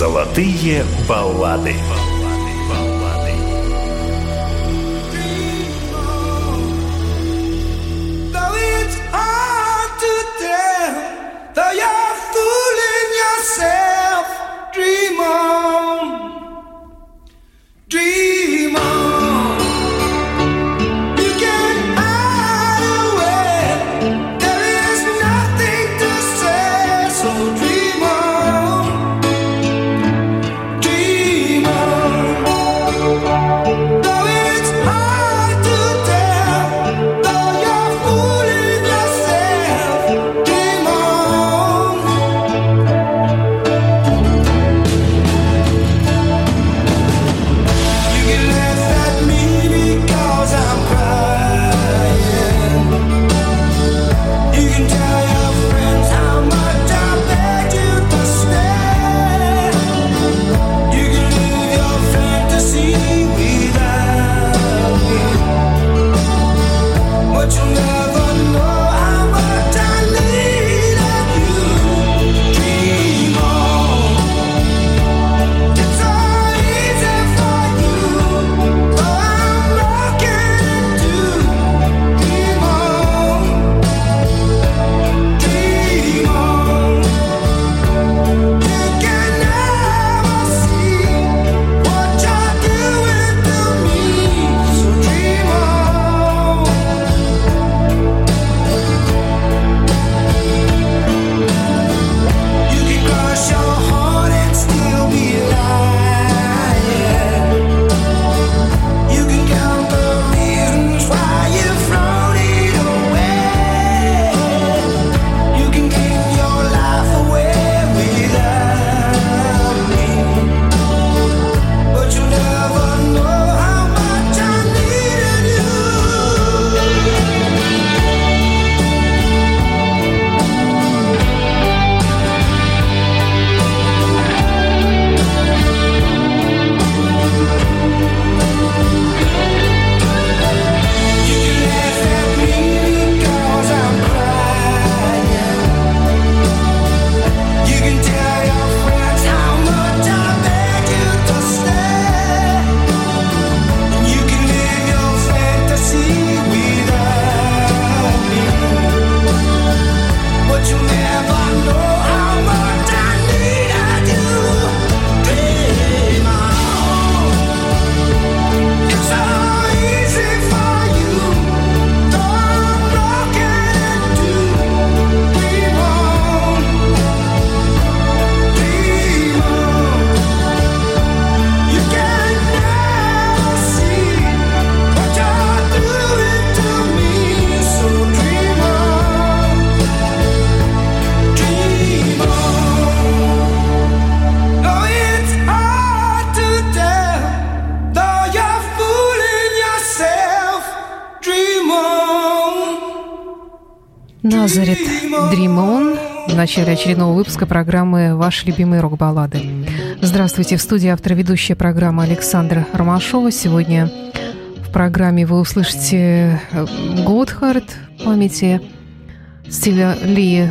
Золотые баллады. Назарет Dream On в начале очередного выпуска программы «Ваши любимые рок-баллады». Здравствуйте, в студии автор-ведущая программы Александра Ромашова. Сегодня в программе вы услышите Готхард в памяти, Стива Ли,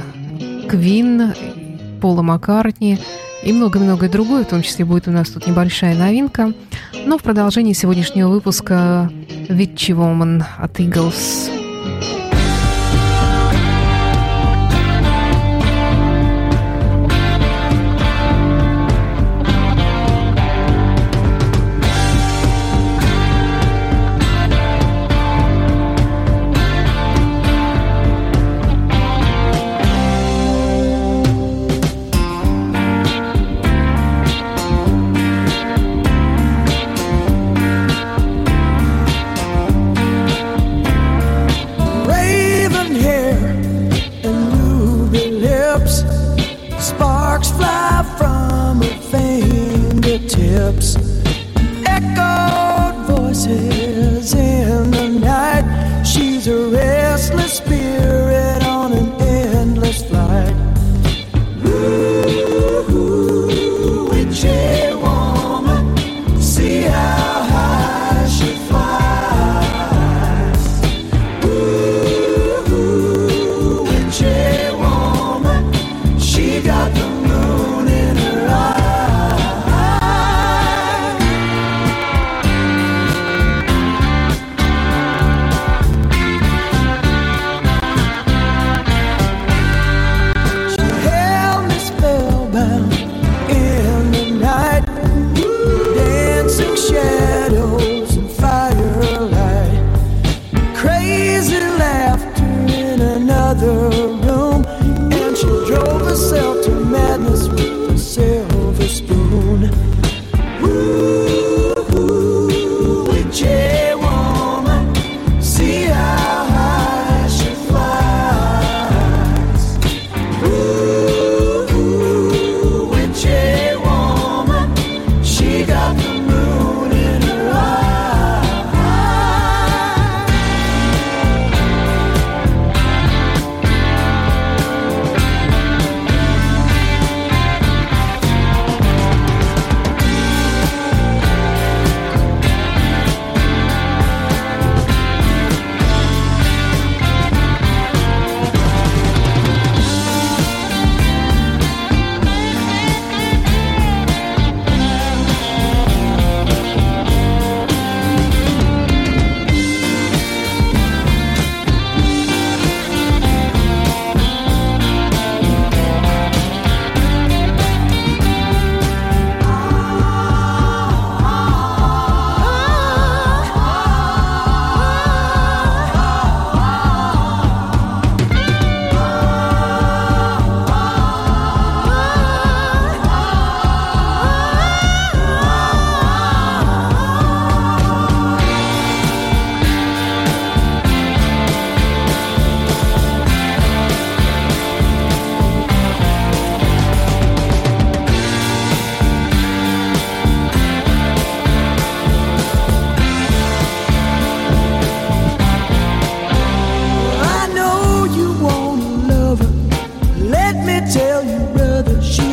Квин, Пола Маккартни и много-многое другое. В том числе будет у нас тут небольшая новинка. Но в продолжении сегодняшнего выпуска «Witchy Woman» от Eagles. Got the moon in her eye.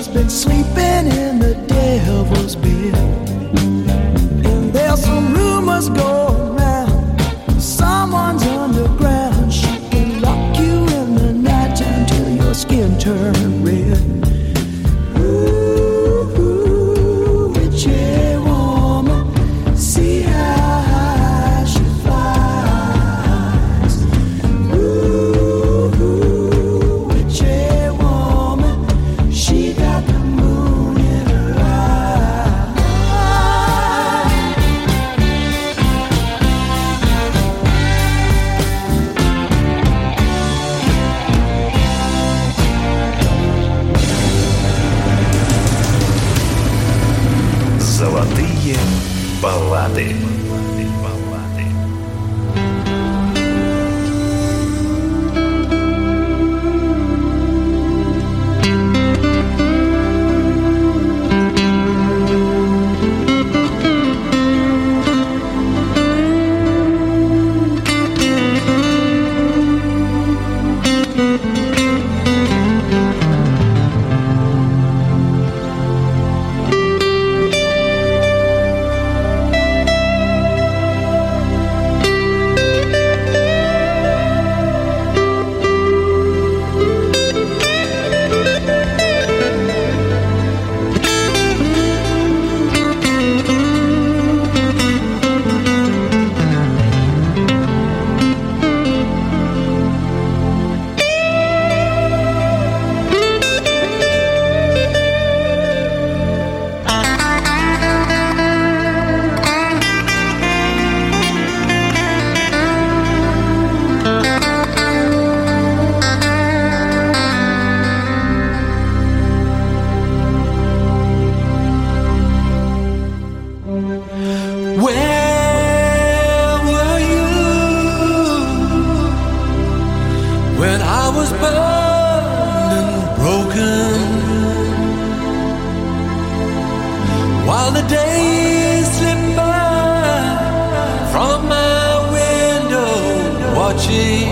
been sleeping in the devil's bed. And there's some rumors going round, someone's underground. She can lock you in the night until your skin turns red. Ooh, witchy woman, see how high she flies. Ooh, witchy woman, she got the moon in her eye. Золотые баллады. When I was burned and broken, while the days slipped by from my window watching,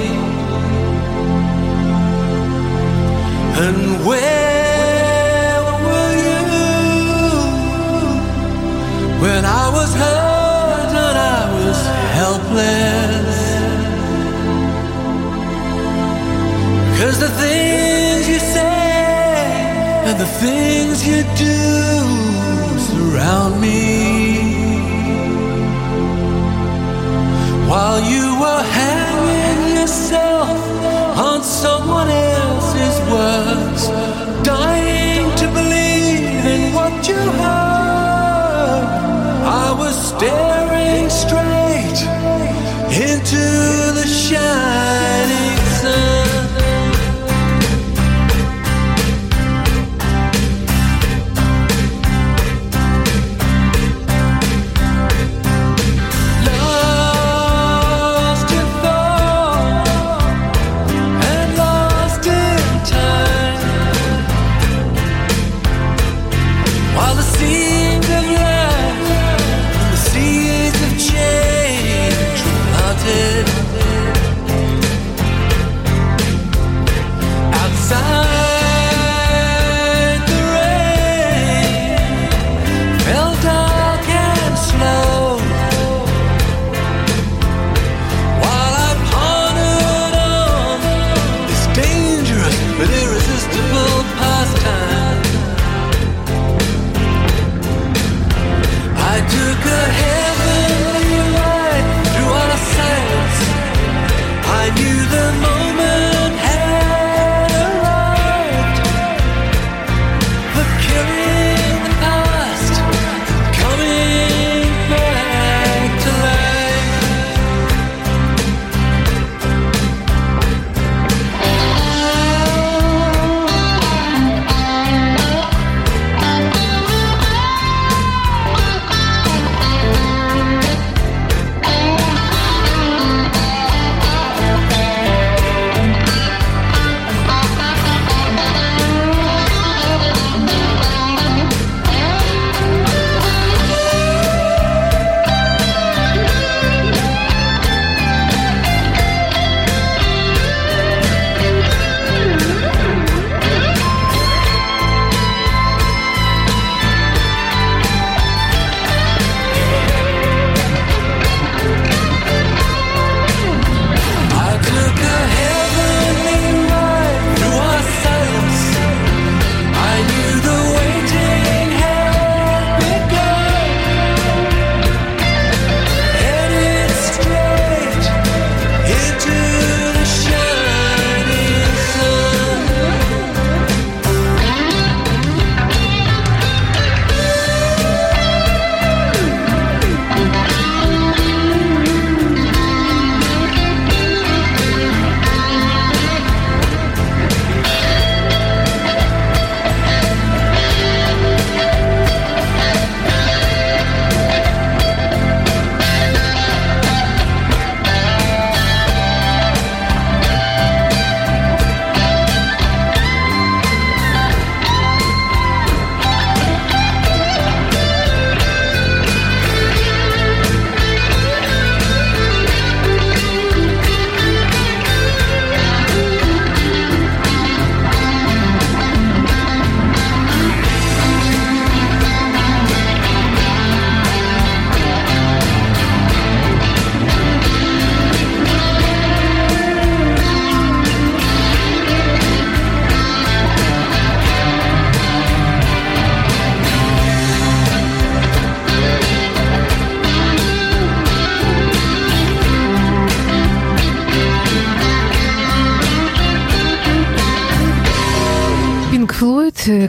and where were you when I was hurt and I was helpless? 'Cause the things you say and the things you do surround me, while you were hanging yourself on someone else's words, dying to believe in what you heard. I was staring straight into the shining sun.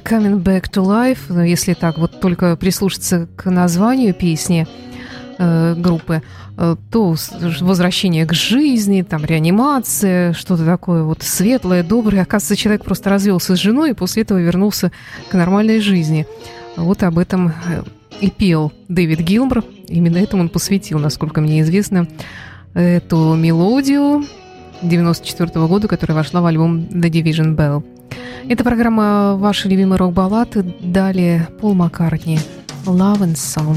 Coming Back to Life, если так вот только прислушаться к названию песни группы, то возвращение к жизни, там реанимация, что-то такое вот светлое, доброе. Оказывается, человек просто развелся с женой и после этого вернулся к нормальной жизни. Вот об этом и пел Дэвид Гилмор. Именно этому он посвятил, насколько мне известно, эту мелодию 1994 года, которая вошла в альбом The Division Bell. Это программа «Ваши любимые рок-баллады». Далее Пол Маккартни «Love and Song».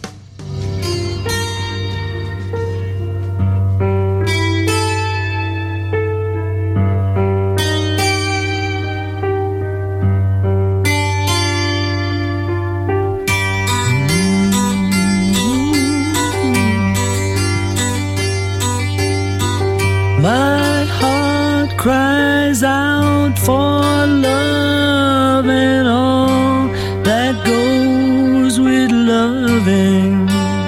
My heart cries out for love and all that goes with loving.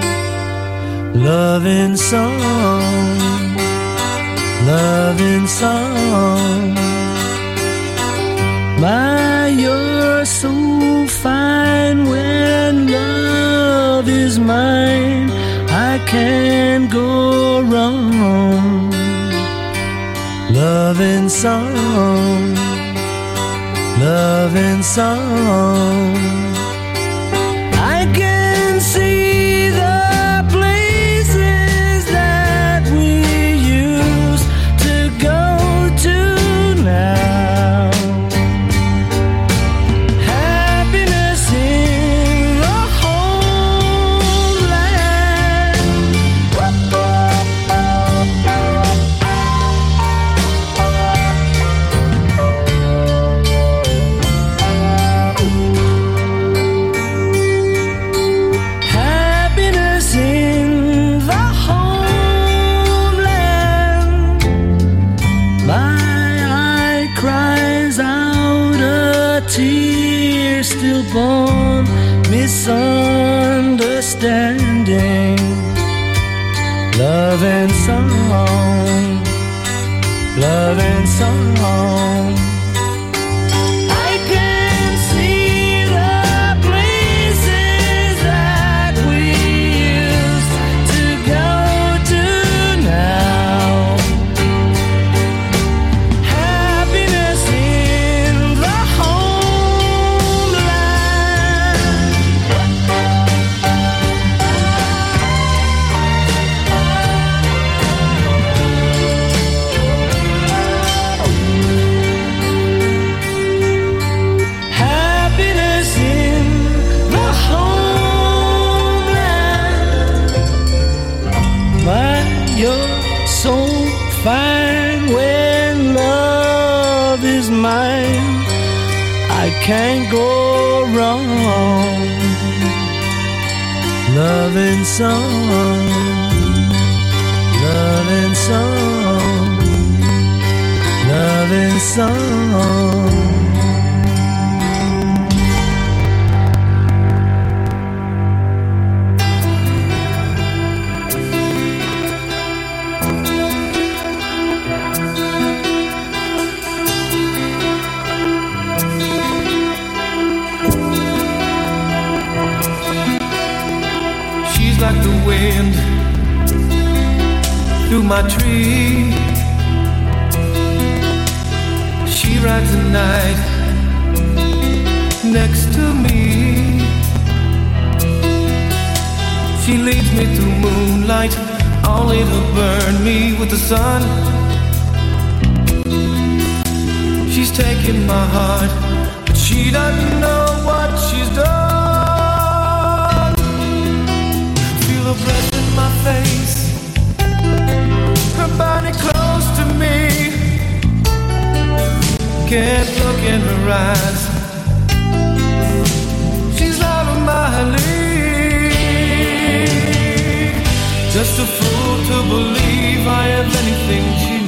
Loving song, loving song. My, you're so fine when love is mine. I can't go wrong. Loving song, loving song. I can see the places that we used to go to now. Happiness in the homeland. Tear still born, misunderstanding. Love and song, love and song. I can see the places that we used to go to now. Happiness in the fine when love is mine. I can't go wrong. Love and song, love and song, love and song. Like the wind through my tree, she rides the night next to me. She leads me through moonlight, only to burn me with the sun. She's taking my heart, but she doesn't know what she's done. Her breath in my face, her body close to me. Can't look in her eyes, she's out of my league. Just a fool to believe I have anything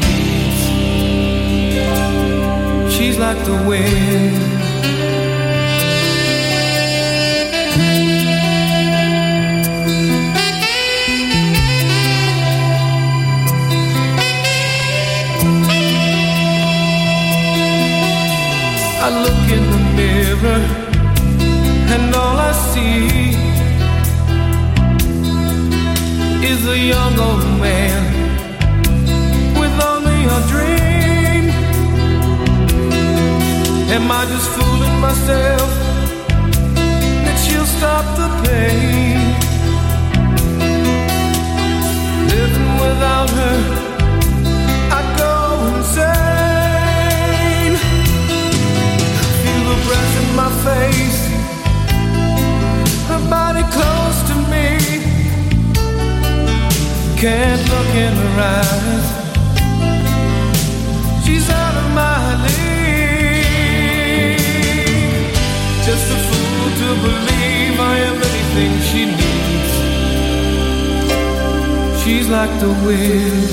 she needs. She's like the wind. I look in the mirror Am I just fooling myself that she'll stop the pain? Living without her, I go insane. Feel the breath in my face, her body close to me. Can't look in her eyes, she's out of my league. Just a fool to believe I am anything she needs. She's like the wind.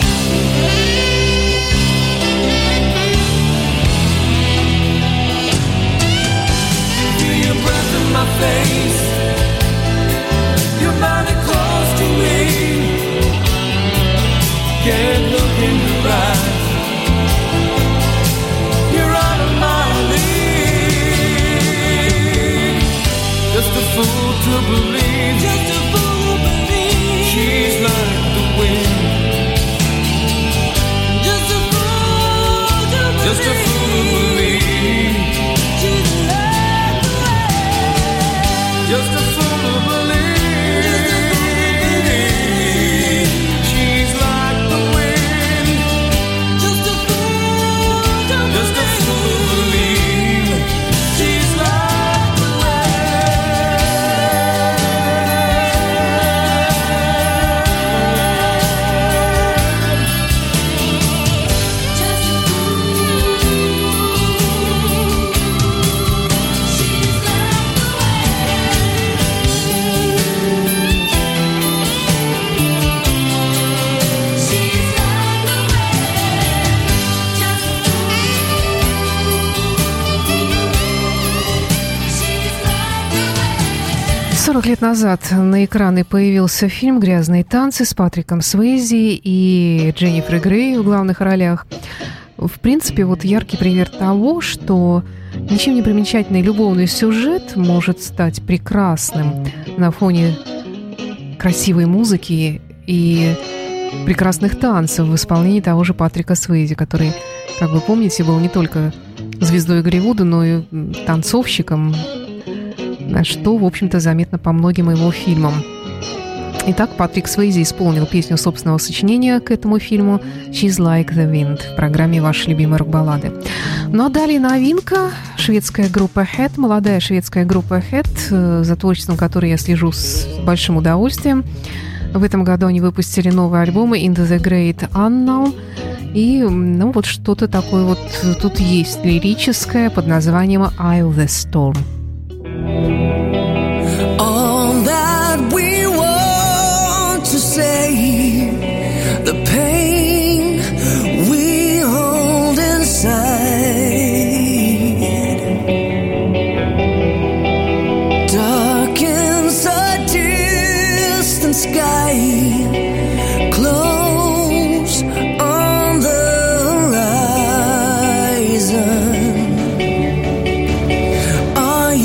Feel your breath in my face, your body close to me. Can't look in your eyes, you're out of my league. Just a fool to believe, just a fool to believe she's like the wind. Just a fool to believe, just a fool to believe she's like the wind. Just a fool to believe. Лет назад на экраны появился фильм «Грязные танцы» с Патриком Суэйзи и Дженнифер Грей в главных ролях. В принципе, вот яркий пример того, что ничем не примечательный любовный сюжет может стать прекрасным на фоне красивой музыки и прекрасных танцев в исполнении того же Патрика Суэйзи, который, как вы помните, был не только звездой Голливуда, но и танцовщиком, что, в общем-то, заметно по многим его фильмам. Итак, Патрик Суэйзи исполнил песню собственного сочинения к этому фильму «She's Like the Wind» в программе «Ваши любимые рок-баллады». Ну а далее новинка. Шведская группа Head, молодая шведская группа Head, за творчеством которой я слежу с большим удовольствием. В этом году они выпустили новые альбомы «Into the Great Unknown». И, ну, вот что-то такое вот тут есть лирическое под названием «I'll the Storm». All that we want to say, the pain we hold inside, darkens a distant sky, close on the horizon. Are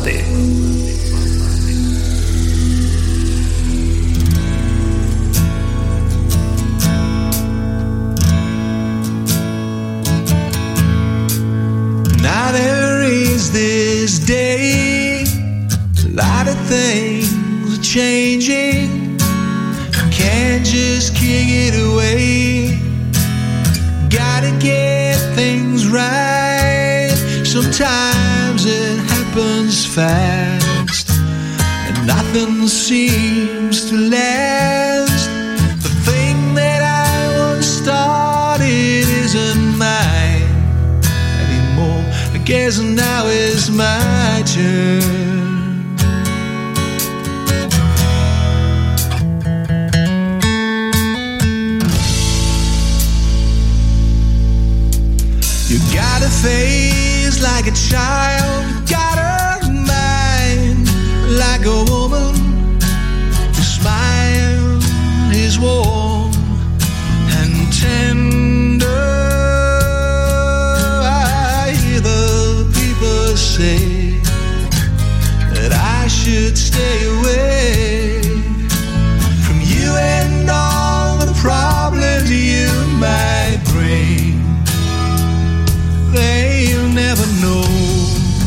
баллады. Now there is this day, a lot of things are changing. Can't just kick it away. Gotta get things right. Sometimes it happens fast, and nothing seems to last. The thing that I once started isn't mine anymore. I guess now is my turn. You got a face like a child, you got a mind like a woman. Your smile is warm and tender. I hear the people say that I should stay away from you and all the problems you might bring. They'll never know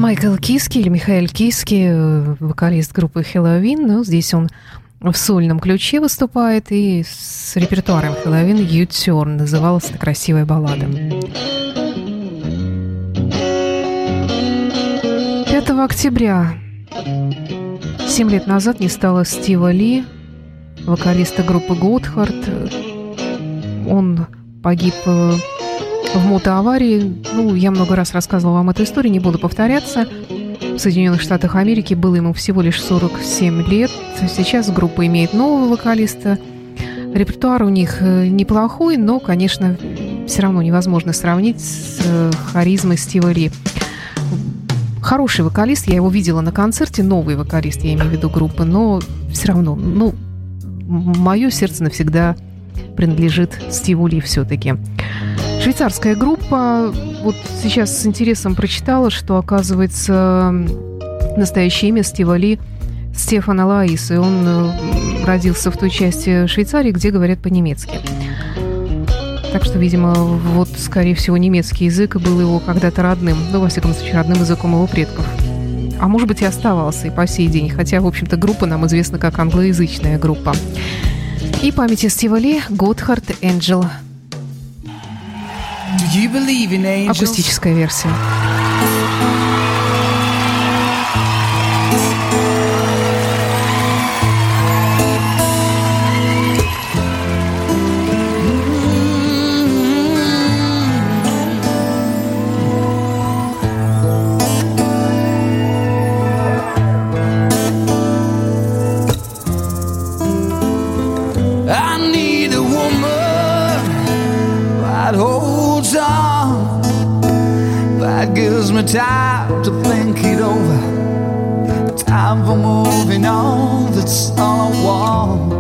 Майкл Киски или Михаил Киски, вокалист группы Helloween, но здесь он в сольном ключе выступает, и с репертуаром Helloween U-Turn называлась эта красивая баллада. 5 октября 7 лет назад не стало Стива Ли, вокалиста группы Готхард. Он погиб в мотоаварии. Я много раз рассказывала вам эту историю, не буду повторяться. В Соединенных Штатах Америки было ему всего лишь 47 лет. Сейчас группа имеет нового вокалиста. Репертуар у них неплохой, но, конечно, все равно невозможно сравнить с харизмой Стива Ли. Хороший вокалист, я его видела на концерте, новый вокалист, я имею в виду группы, но все равно, мое сердце навсегда принадлежит Стиву Ли все-таки. Швейцарская группа. Вот сейчас с интересом прочитала, что, оказывается, настоящее имя Стива Ли Стефан Алаис, и он родился в той части Швейцарии, где говорят по-немецки. Так что, видимо, скорее всего, немецкий язык был его когда-то родным, во всяком случае, родным языком его предков. А может быть, и оставался и по сей день, хотя, в общем-то, группа нам известна как англоязычная группа. И памяти Стива Ли «Готхард Энджел». Акустическая версия. Gives me time to think it over. Time for moving on, that's all I want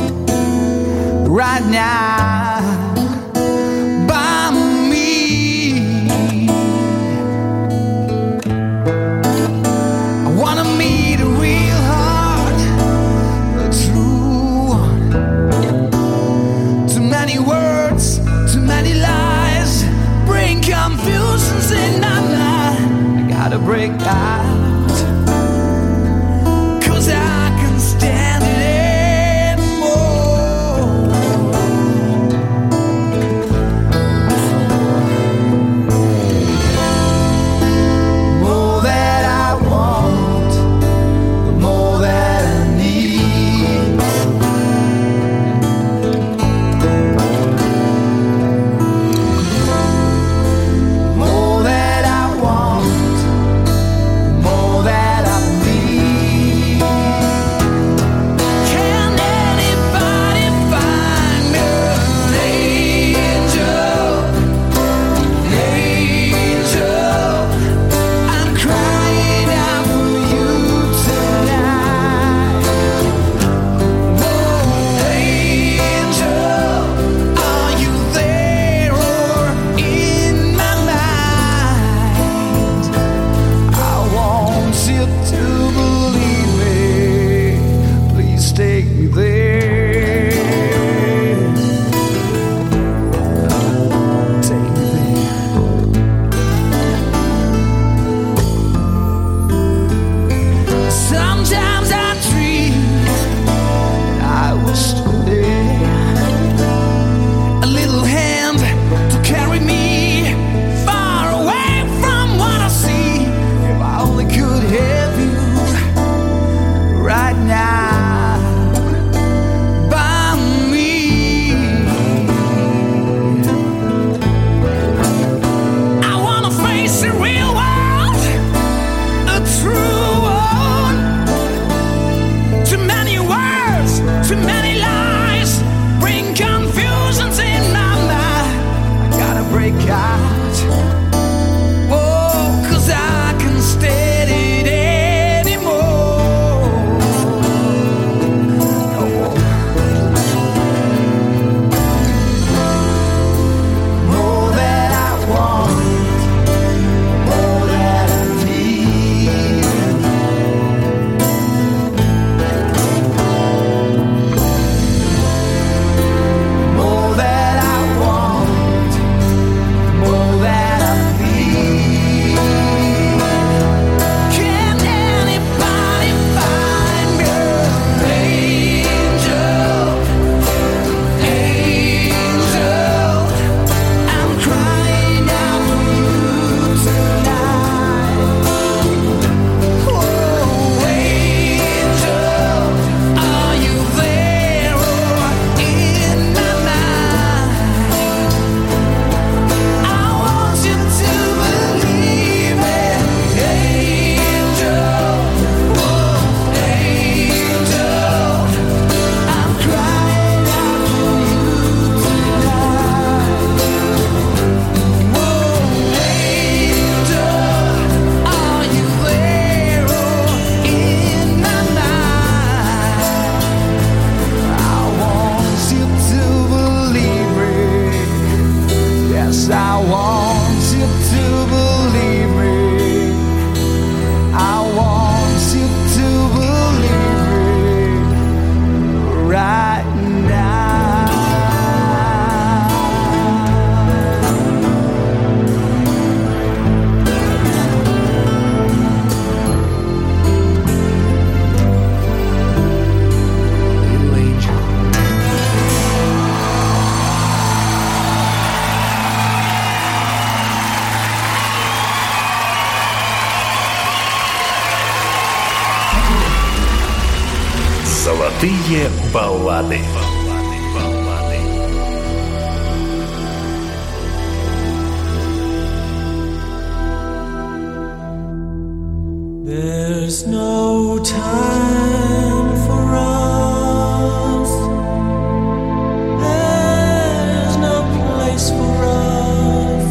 right now. By me, I wanna meet a real heart, a true one. Too many words, too many lies, bring confusions in my mind. I gotta break out, 'cause I can stand it anymore. More that I want, the more that I need. More that I want, more that I need. Can anybody find me an angel? An angel, I'm crying out for you tonight. Oh, angel, are you there or in my mind? I want you to believe me. Please take me there. Take me there. Sometimes I dream I was still there. A little hand to carry me far away from what I see. If I only could have you right now by me. I wanna face the real world, a true one. Too many words, too many lies, bring confusions in my mind. I gotta break out, oh, 'cause I can stand it anymore. No more. More that I want, more that I need. More that I want, more that I Золотые баллады. There's no time for us. There's no place for us.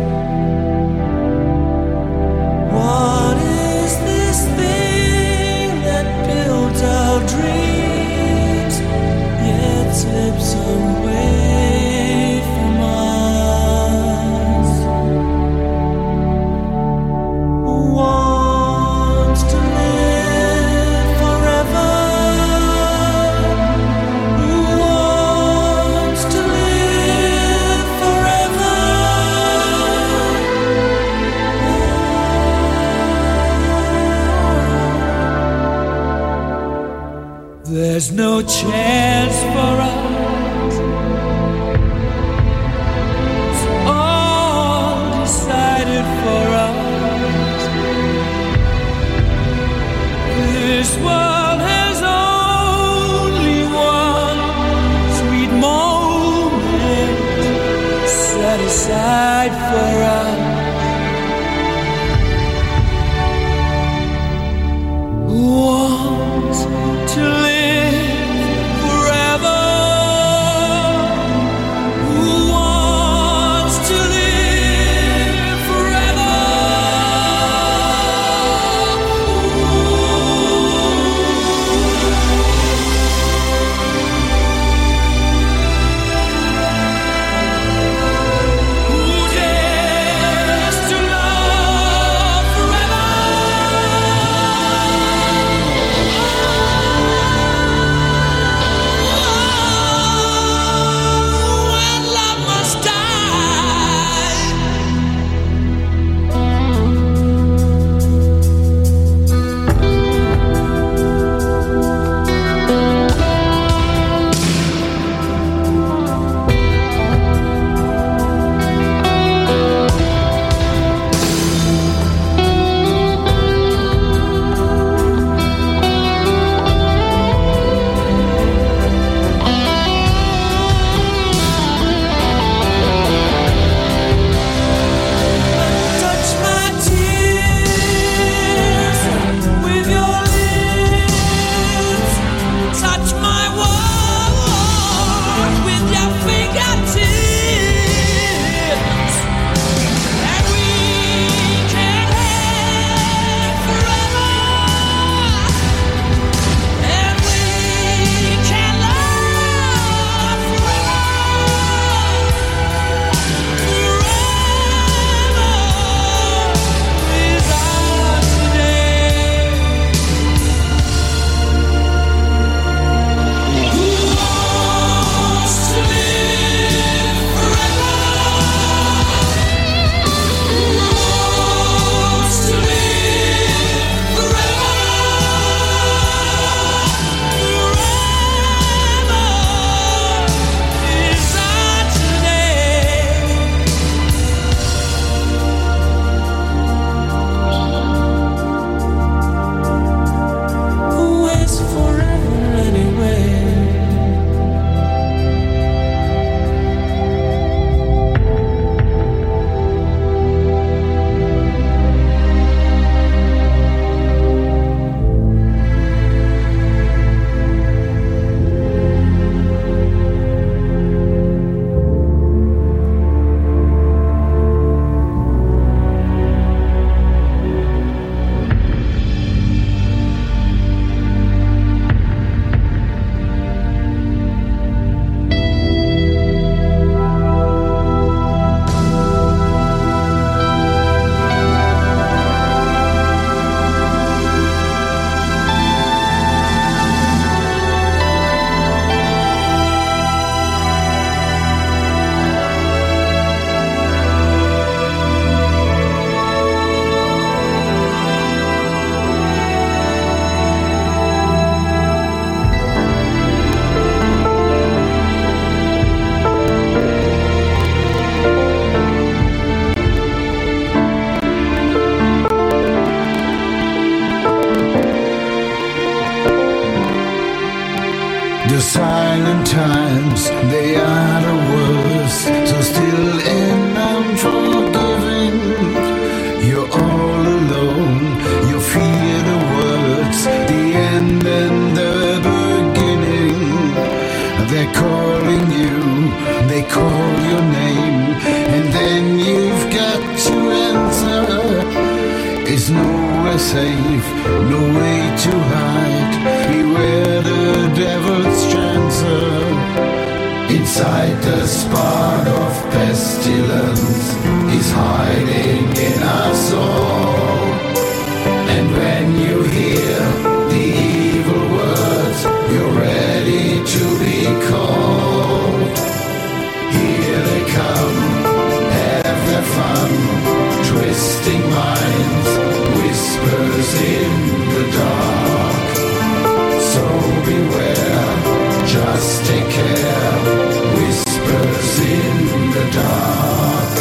What is this thing that builds our dreams yet slips away from us? Wants to live forever. Who wants to live forever? There's no chance for us. It's all decided for us. This world has only one sweet moment set aside for us. Who wants to live forever? and times, they are the worst. So still and unforgiving, you're all alone. You fear the words, the end and the beginning. They're calling you, they call your name, and then you've got to answer. It's nowhere safe, no way to hide. Beware the devil's chancer. Inside the spark of pestilence, he's hiding in us all. And when you hear the evil words, you're ready to be called. Here they come, have their fun, twisting minds, whispers in the dark. So beware, just take care, whispers in the dark.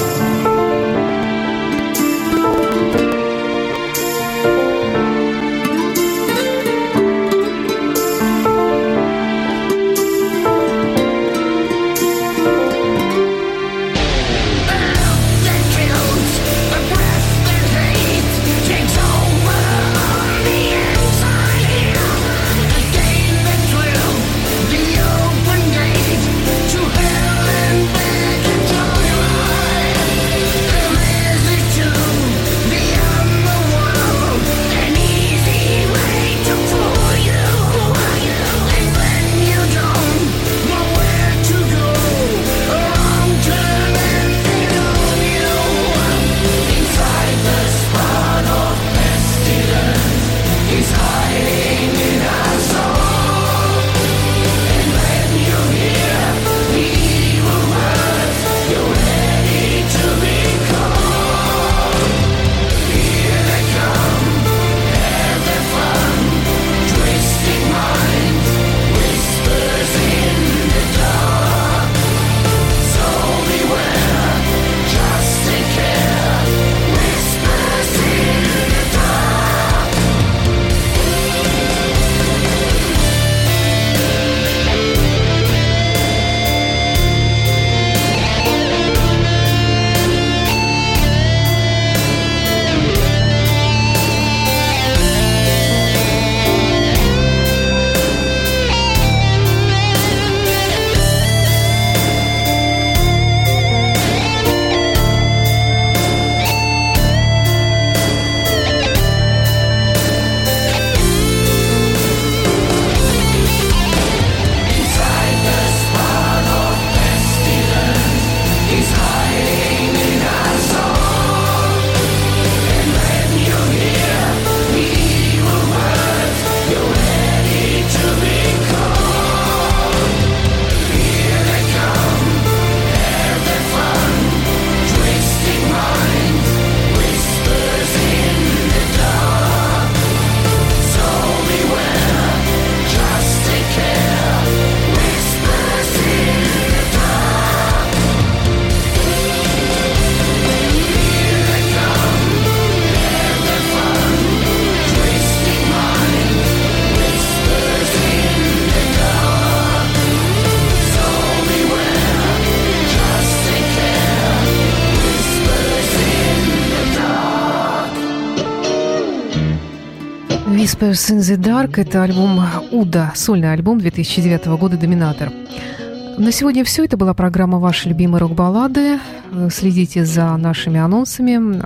Whispers in the Dark – это альбом Уда, сольный альбом 2009 года «Доминатор». На сегодня все. Это была программа «Ваши любимые рок-баллады». Следите за нашими анонсами.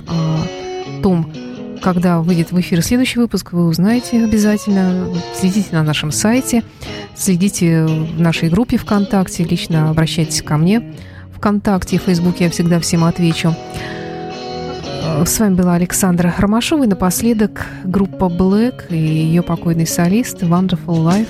О том, когда выйдет в эфир следующий выпуск, вы узнаете обязательно. Следите на нашем сайте, следите в нашей группе ВКонтакте, лично обращайтесь ко мне ВКонтакте и Фейсбуке, я всегда всем отвечу. С вами была Александра Ромашова, и напоследок группа Black и ее покойный солист Wonderful Life.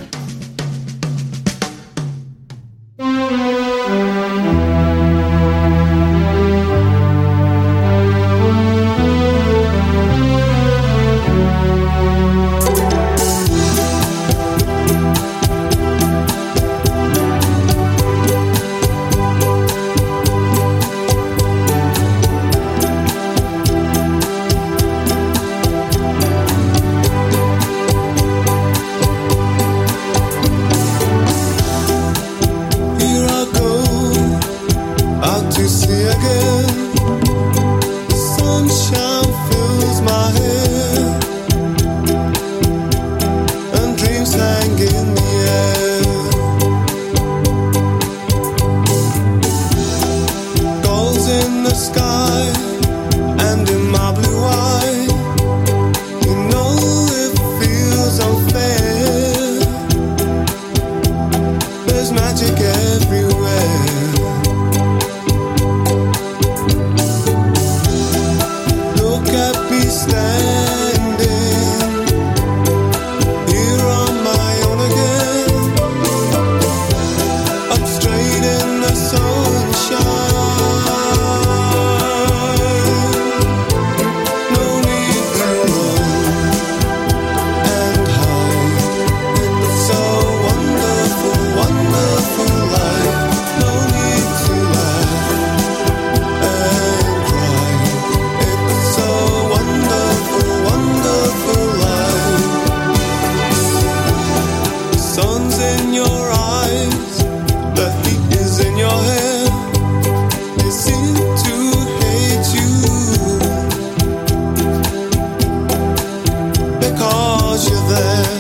there.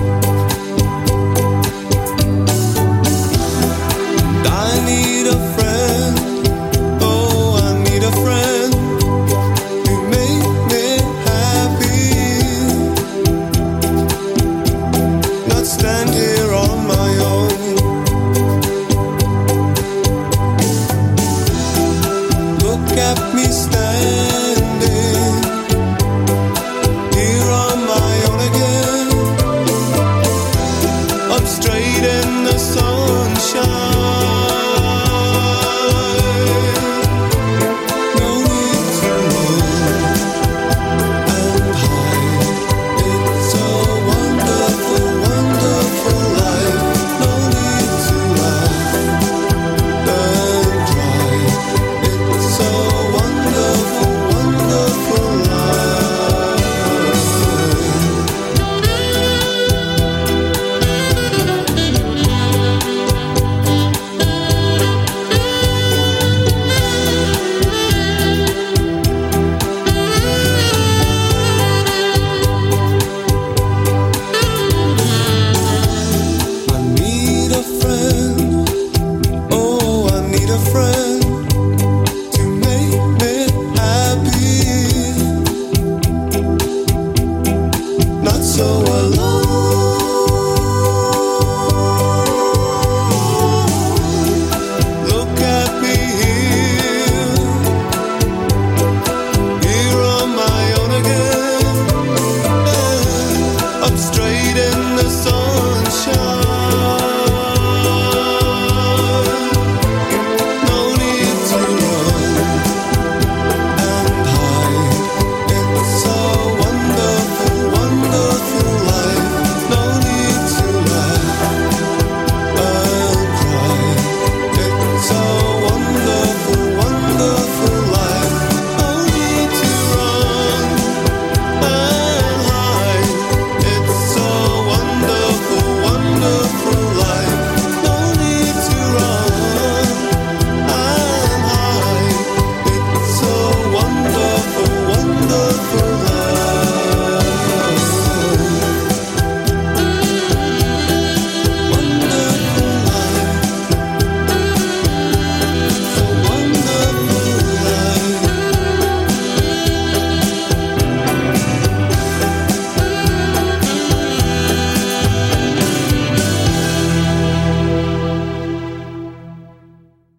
And I need a friend, oh, I need a friend to make me happy, not stand here on my own. Look at me stand